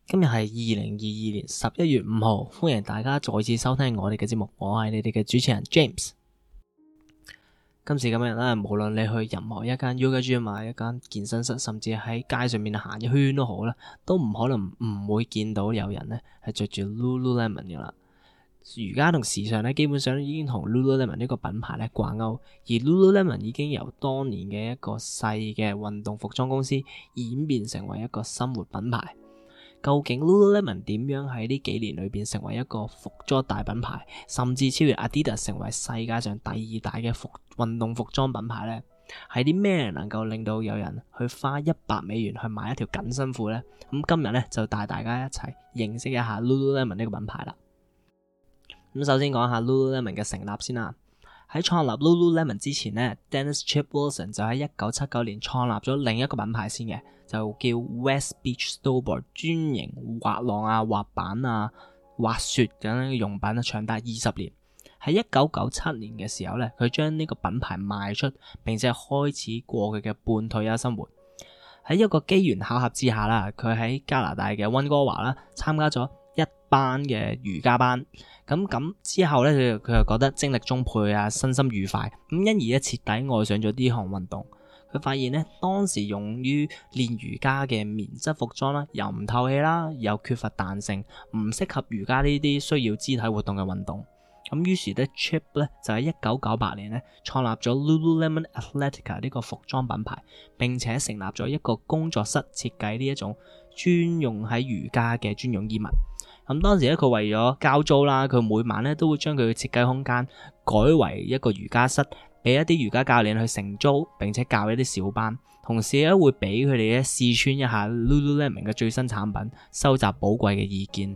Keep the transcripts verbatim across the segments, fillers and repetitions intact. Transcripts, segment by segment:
今日係二零二二年十一月五號，歡迎大家再次收聽我哋嘅節目，我係你哋嘅主持人 James。今時今日咧，無論你去任何一間 Yoga Gym 啊、一間健身室，甚至喺街上面行一圈都好啦，都唔可能唔會見到有人咧係着住 Lululemon 嘅啦。瑜伽同時尚咧，基本上已經同 Lululemon 呢個品牌咧掛鈎，而 Lululemon 已經由當年嘅一個細嘅運動服裝公司演變成為一個生活品牌。究竟 Lululemon 點樣喺呢幾年裏邊成為一個服裝大品牌，甚至超越 Adidas 成為世界上第二大嘅服運動服裝品牌呢？係啲咩能夠令到有人去花一百美元去買一條緊身褲呢？咁今日咧就帶大家一齊認識一下 Lululemon 呢個品牌啦。咁首先講下 Lululemon 嘅成立先啦。喺創立 Lululemon 之前呢， Dennis Chip Wilson 就喺一九七九年創立咗另一個品牌先嘅，就叫 West Beach Snowboard， 專營滑浪啊、滑板啊、滑雪咁樣嘅用品，長達二十年。喺一九九七年嘅時候呢，佢將呢個品牌賣出，並且開始過佢嘅半退休生活。喺一個機緣巧合之下啦，佢喺加拿大嘅溫哥華啦參加咗一班嘅瑜伽班，咁咁之後咧，佢佢又覺得精力充沛啊，身心愉快，咁因而咧徹底愛上咗呢項運動。佢發現咧，當時用於練瑜伽嘅棉質服裝啦，又唔透氣啦，又缺乏彈性，唔適合瑜伽呢啲需要肢體活動嘅運動。咁於是咧 Chip 咧就喺一九九八年咧創立咗 Lululemon Athletica 呢個服裝品牌，並且成立咗一個工作室設計呢一種專用喺瑜伽嘅專用衣物。咁當時咧，佢為咗交租啦，佢每晚咧都會將佢嘅設計空間改為一個瑜伽室，俾一啲瑜伽教練去承租，並且教一啲小班。同時咧，會俾佢哋咧試穿一下 Lululemon 嘅最新產品，收集寶貴嘅意見。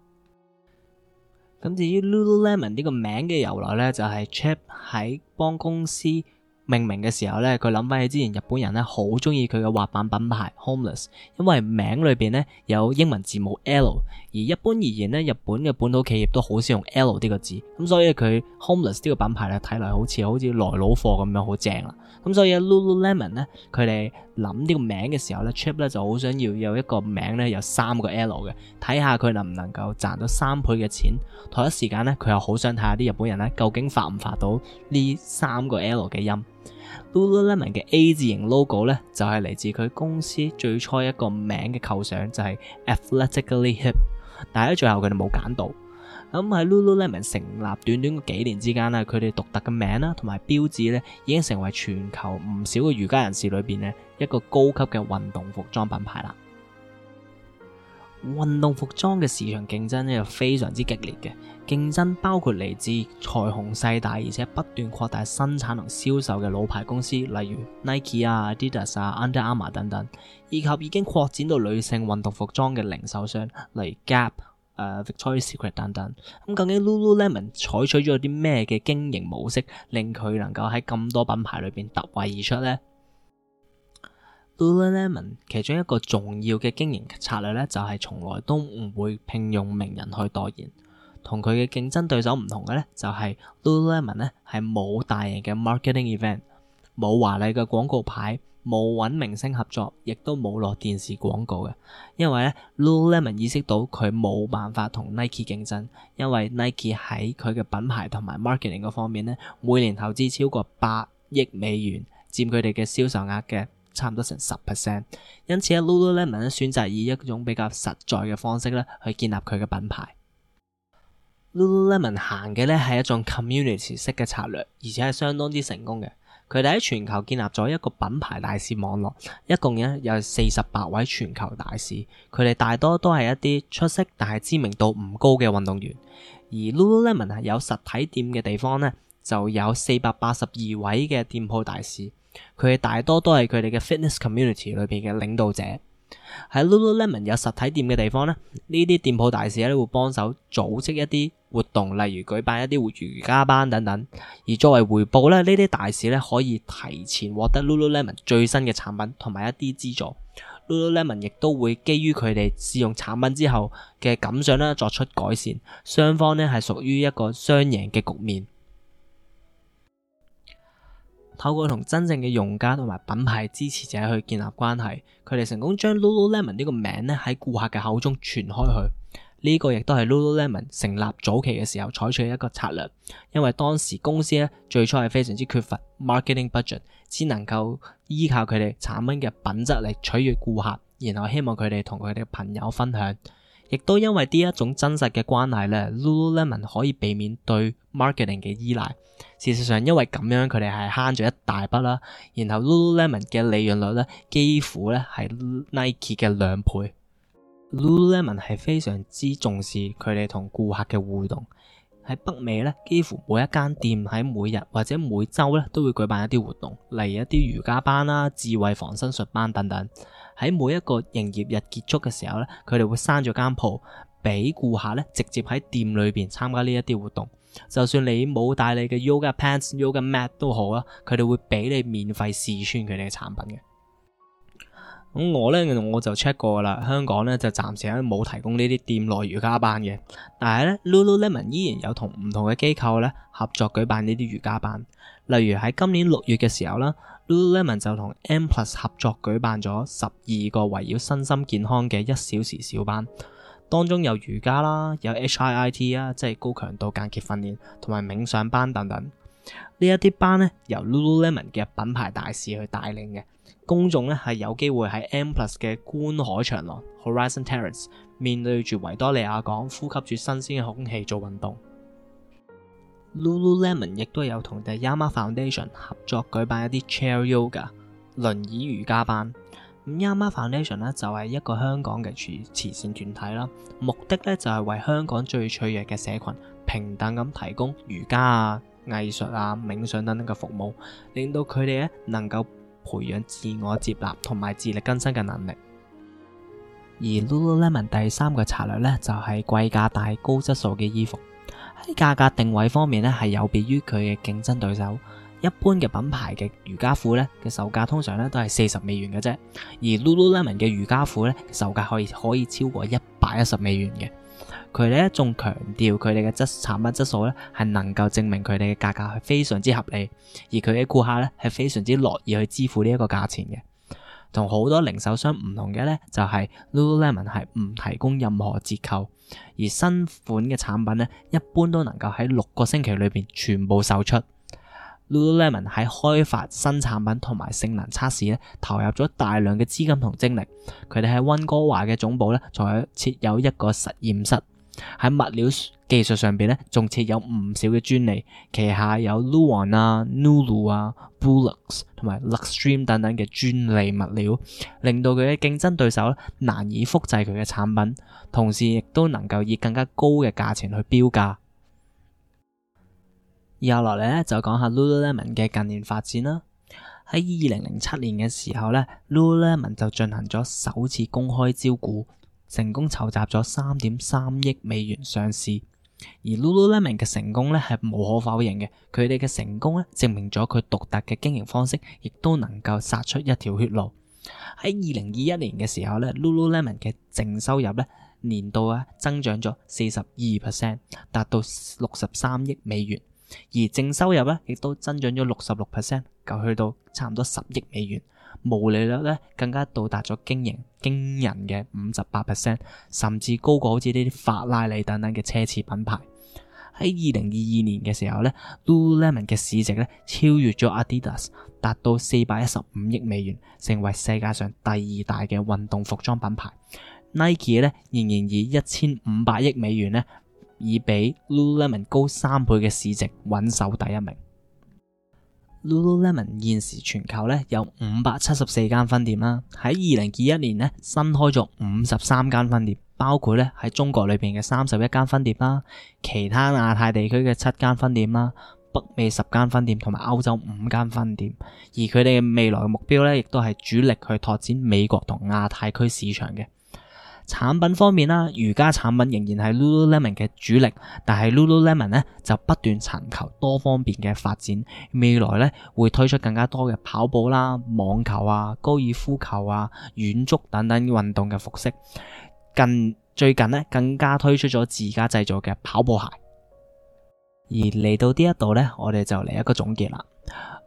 咁至於 Lululemon 呢個名嘅由來咧，就係 Chip 喺幫公司命名嘅時候咧，佢諗翻起之前日本人咧好中意佢嘅滑板品牌 Homeless， 因為名裏邊咧有英文字母 L， 而一般而言咧，日本嘅本土企業都好少用 L 呢個字，咁所以佢 Homeless 呢個品牌咧睇嚟好似好似來佬貨咁樣好正啦。咁所以 Lululemon 咧，佢哋諗呢個名嘅時候咧 Chip 咧就好想要有一個名咧有三個 L 嘅，睇下佢能唔能夠賺到三倍嘅錢。同一時間咧，佢又好想睇下啲日本人咧究竟發唔發到呢三個 L 嘅音。Lululemon 嘅 A 字型 logo 咧就係嚟自佢公司最初一個名嘅構想，就係 Athletically Hip， 但係喺最後佢哋冇揀到。咁喺 Lululemon 成立短短幾年之間咧，佢哋獨特嘅名啦同埋標誌咧已經成為全球唔少嘅瑜伽人士裏邊咧一個高級嘅運動服裝品牌啦。運動服裝嘅市場競爭咧又非常之激烈嘅，競爭包括嚟自財雄勢大而且不斷擴大生產同銷售嘅老牌公司，例如 Nike 啊、Adidas 啊、Under Armour 等等，以及已經擴展到女性運動服裝嘅零售商，例如 Gap、呃、Victoria's Secret 等等。咁究竟 Lululemon 採取咗啲咩嘅經營模式，令佢能夠喺咁多品牌裏邊突圍而出呢？Lululemon 其中一個重要嘅經營策略咧，就係從來都唔會聘用名人去代言。同佢嘅競爭對手唔同嘅咧，就係 Lululemon 咧係冇大型嘅 marketing event， 冇華麗嘅廣告牌，冇揾明星合作，亦都冇落電視廣告嘅。因為咧 Lululemon 意識到佢冇辦法同 Nike 競爭，因為 Nike 喺佢嘅品牌同埋 marketing 嗰方面咧，每年投資超過八億美元，佔佢哋嘅銷售額嘅差唔多成十 percent， 因此咧 Lululemon 咧選擇以一種比較實在嘅方式咧去建立佢嘅品牌。Lululemon 行嘅咧係一種 community 式嘅策略，而且係相當之成功嘅。佢哋喺全球建立咗一個品牌大使網絡，一共咧有四十八位全球大使，佢哋大多都係一啲出色但係知名度唔高嘅運動員。而 Lululemon 係有實體店嘅地方咧，就有四百八十二位嘅店鋪大使。佢哋大多都係佢哋嘅 fitness community 裏邊嘅領導者。喺 Lululemon 有實體店嘅地方咧，呢啲店鋪大使咧會幫手組織一啲活動，例如舉辦一啲瑜伽班等等。而作為回報咧，呢啲大使咧可以提前獲得 Lululemon 最新嘅產品同埋一啲資助。Lululemon 亦都會基於佢哋試用產品之後嘅感想咧作出改善，雙方咧係屬於一個雙贏嘅局面。 透過同真正嘅用家同埋品牌支持者去建立關係，佢哋成功將 Lululemon 呢個名咧喺顧客嘅口中傳開去。呢個亦都係 Lululemon 成立早期嘅時候採取嘅一個策略，因為當時公司咧最初係非常之缺乏 marketing budget， 只能夠依靠佢哋產品嘅品質嚟取悅顧客，然後希望佢哋同佢哋嘅朋友分享。亦都因為呢一種真實嘅關係咧 Lululemon 可以避免對 marketing 嘅依賴。事實上，因為咁樣佢哋係慳咗一大筆啦，然後 Lululemon 嘅利潤率咧幾乎咧係 Nike 嘅兩倍。Lululemon 係非常之重視佢哋同顧客嘅互動。喺北美咧，幾乎每一間店喺每日或者每周咧都會舉辦一啲活動，例如一啲瑜伽班啦、智慧防身術班等等。喺每一個營業日結束嘅時候咧，佢哋會閂咗間鋪，俾顧客咧直接喺店裏邊參加呢一啲活動。就算你冇帶你嘅 yoga pants、yoga mat 都好啦，佢哋會俾你免費試穿佢哋嘅產品嘅。咁我咧我就 check 過啦，香港咧就暫時咧冇提供呢啲店內瑜伽班嘅，但係咧 Lululemon 依然有同唔同嘅機構咧合作舉辦呢啲瑜伽班。例如喺今年六月嘅時候啦 ，Lululemon 就同 M Plus 合作舉辦咗十二個圍繞身心健康嘅一小時小班，當中有瑜伽啦，有 H I I T 啊，即係高強度間歇訓練，同埋冥想班等等。呢一啲班咧由 Lululemon 嘅品牌大使去帶領嘅。公眾咧係有機會喺 M Plus 嘅觀海長廊 Horizon Terrace 面對住維多利亞港，呼吸住新鮮嘅空氣做運動。Lululemon 亦都有同 The Yama Foundation 合作舉辦一啲 Chair Yoga 輪椅瑜伽班。咁 Yama Foundation 咧就係一個香港嘅慈慈善團體啦，目的咧就係為香港最脆弱嘅社群平等咁提供瑜伽啊、藝術啊、冥想等等嘅服務，令到佢哋咧能夠培養自我接納同埋自力更生嘅能力。而 Lululemon 第三個策略咧就係貴價大高質素嘅衣服。喺價格定位方面咧係有別於佢嘅競爭對手。一般嘅品牌嘅瑜伽褲咧嘅售價通常咧都係四十美元嘅啫，而 Lululemon 嘅瑜伽褲咧售價可以可以超過一百一十美元嘅。佢哋咧仲強調佢哋嘅質產品質素咧係能夠證明佢哋嘅價格係非常之合理，而佢嘅顧客咧係非常之樂意去支付呢一個價錢嘅。同好多零售商唔同嘅咧就係 Lululemon 係唔提供任何折扣，而新款嘅產品咧一般都能夠喺六個星期裏邊全部售出。Lululemon 喺開發新產品同埋性能測試咧，投入咗大量嘅資金同精力。佢哋喺溫哥華嘅總部咧，仲有設有一個實驗室。喺物料技術上邊咧，仲設有唔少嘅專利。旗下有 Luon 啊、Nulu 啊、Bulux 同埋 Luxtreme 等等嘅專利物料，令到佢嘅競爭對手咧難以複製佢嘅產品，同時亦都能夠以更加高嘅價錢去標價。然後落嚟咧就講下 Lululemon 嘅近年發展啦。喺二零零七年嘅時候咧 ，Lululemon 就進行咗首次公開招股，成功籌集咗三點三億美元上市。而 Lululemon 嘅成功咧係無可否認嘅，佢哋嘅成功咧證明咗佢獨特嘅經營方式，亦都能夠殺出一條血路。喺二零二一年嘅時候咧 ，Lululemon 嘅淨收入咧年度啊增長咗四十二 percent， 達到六十三億美元。而淨收入咧，亦都增長咗六十六 percent， 就去到差唔多十億美元。毛利率咧更加到達咗驚人驚人嘅五十八 percent， 甚至高過好似呢啲法拉利等等嘅奢侈品牌。喺二零二二年嘅時候咧 ，Lululemon 嘅市值咧超越咗 Adidas， 達到四百一十五億美元，成為世界上第二大嘅運動服裝品牌。Nike 咧仍然以一千五百億美元咧，以比 Lululemon 高三倍嘅市值穩守第一名。Lululemon 現時全球咧有五百七十四間分店啦，喺二零二一年咧新開咗五十三間分店，包括咧喺中國裏邊嘅三十一間分店啦，其他亞太地區嘅七間分店啦，北美十間分店同埋歐洲五間分店。而佢哋嘅未來嘅目標咧，亦都係主力去拓展美國同亞太區市場嘅。產品方面啦，瑜伽產品仍然係 Lululemon 嘅主力，但係 Lululemon 咧就不斷尋求多方面嘅發展，未來咧會推出更加多嘅跑步啦、網球啊、高爾夫球啊、遠足等等運動嘅服飾。近最近咧更加推出咗自家製造嘅跑步鞋。而嚟到呢一度咧，我哋就嚟一個總結啦。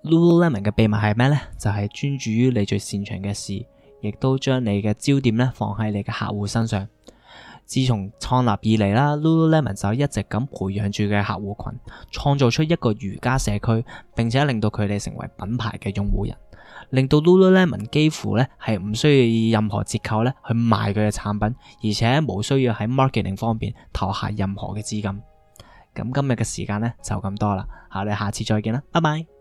Lululemon 嘅秘密係咩呢？就係專注於你最擅長嘅事，亦都將你嘅焦點咧放喺你嘅客戶身上。自從創立以嚟啦 ，Lululemon 就一直咁培養住嘅客戶群，創造出一個瑜伽社區，並且令到佢哋成為品牌嘅擁護人，令到 Lululemon 幾乎咧係唔需要以任何折扣咧去賣佢嘅產品，而且冇需要喺 marketing 方面投下任何嘅資金。咁今日嘅時間咧就咁多啦，我哋下次再見啦，拜拜。